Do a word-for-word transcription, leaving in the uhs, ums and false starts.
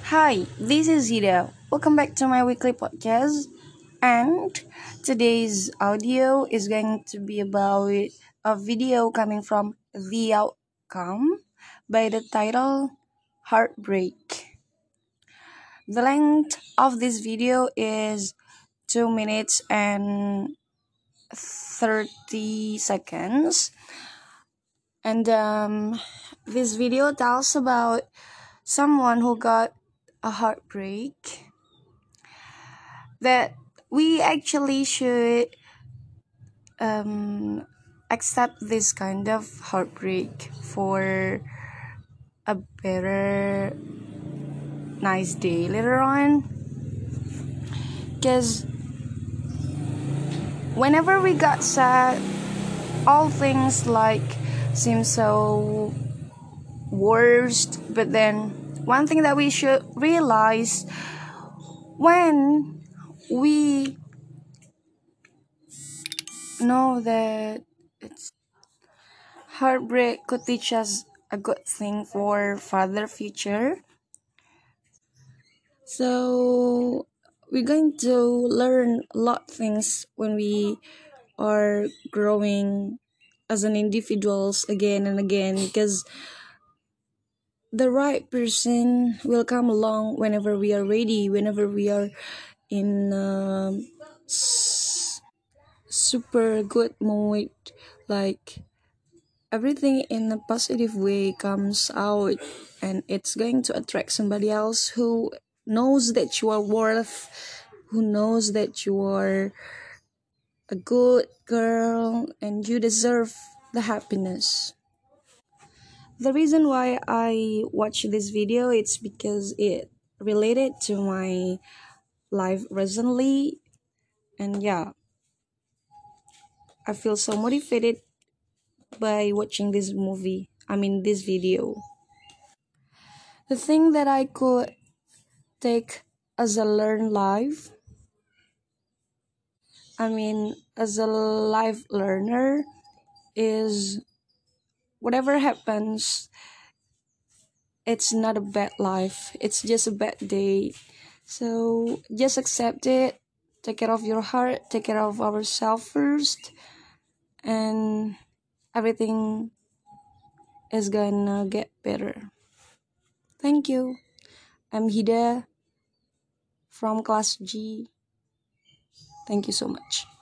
Hi, this is Ida. Welcome back to my weekly podcast. And today's audio is going to be about a video coming from The Outcome by the title Heartbreak. The length of this video is two minutes and thirty seconds. And um, this video tells about someone who got a heartbreak that we actually should um, accept this kind of heartbreak for a better nice day later on, because whenever we got sad, all things like seem so worst. But then one thing that we should realize, when we know that it's heartbreak could teach us a good thing for further future. So we're going to learn a lot things when we are growing as an individuals again and again, because the right person will come along whenever we are ready, whenever we are in um, s- super good mood, like everything in a positive way comes out, and it's going to attract somebody else who knows that you are worth, who knows that you are a good girl and you deserve the happiness. The reason why I watch this video, it's because it related to my life recently. And yeah, I feel so motivated by watching this movie, I mean this video. The thing that I could take as a learn life, I mean, as a life learner, is whatever happens, it's not a bad life, it's just a bad day. So just accept it, take care of your heart, take care of ourselves first, and everything is gonna get better. Thank you. I'm Hida from class G. Thank you so much.